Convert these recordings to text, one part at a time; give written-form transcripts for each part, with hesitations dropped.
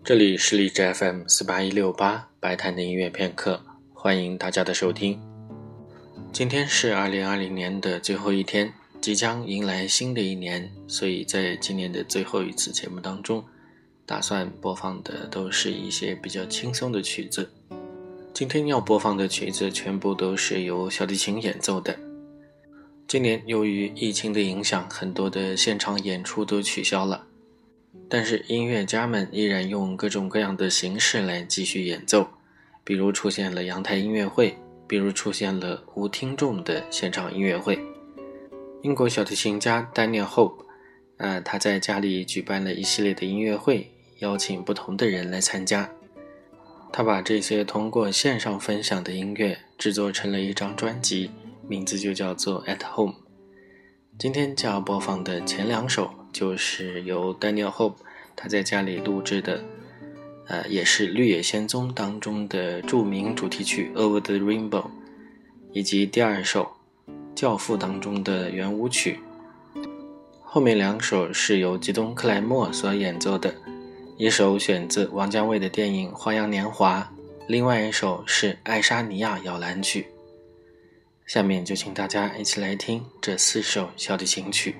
这里是荔枝 FM48168白谈的音乐片刻，欢迎大家的收听。今天是2020年的最后一天，即将迎来新的一年，所以在今年的最后一次节目当中，打算播放的都是一些比较轻松的曲子。今天要播放的曲子全部都是由小提琴演奏的。今年由于疫情的影响，很多的现场演出都取消了，但是音乐家们依然用各种各样的形式来继续演奏，比如出现了阳台音乐会，比如出现了无听众的现场音乐会。英国小提琴家 Daniel Hope他在家里举办了一系列的音乐会，邀请不同的人来参加。他把这些通过线上分享的音乐制作成了一张专辑，名字就叫做 At Home。 今天就要播放的前两首就是由 Daniel Hope 他在家里录制的也是《绿野仙踪》当中的著名主题曲 Over the Rainbow， 以及第二首《教父》当中的圆舞曲。后面两首是由吉东克莱默所演奏的，一首选自王家卫的电影《花样年华》，另外一首是爱沙尼亚摇篮曲。下面就请大家一起来听这四首小提琴曲。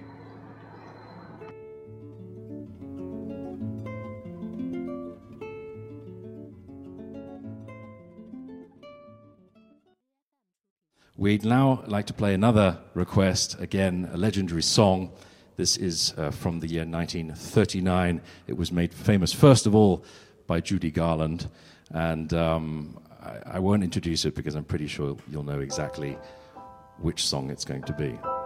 We'd now like to play another request, again, a legendary song. This is from the year 1939. It was made famous, first of all, by Judy Garland. And I won't introduce it because I'm pretty sure you'll know exactly which song it's going to be.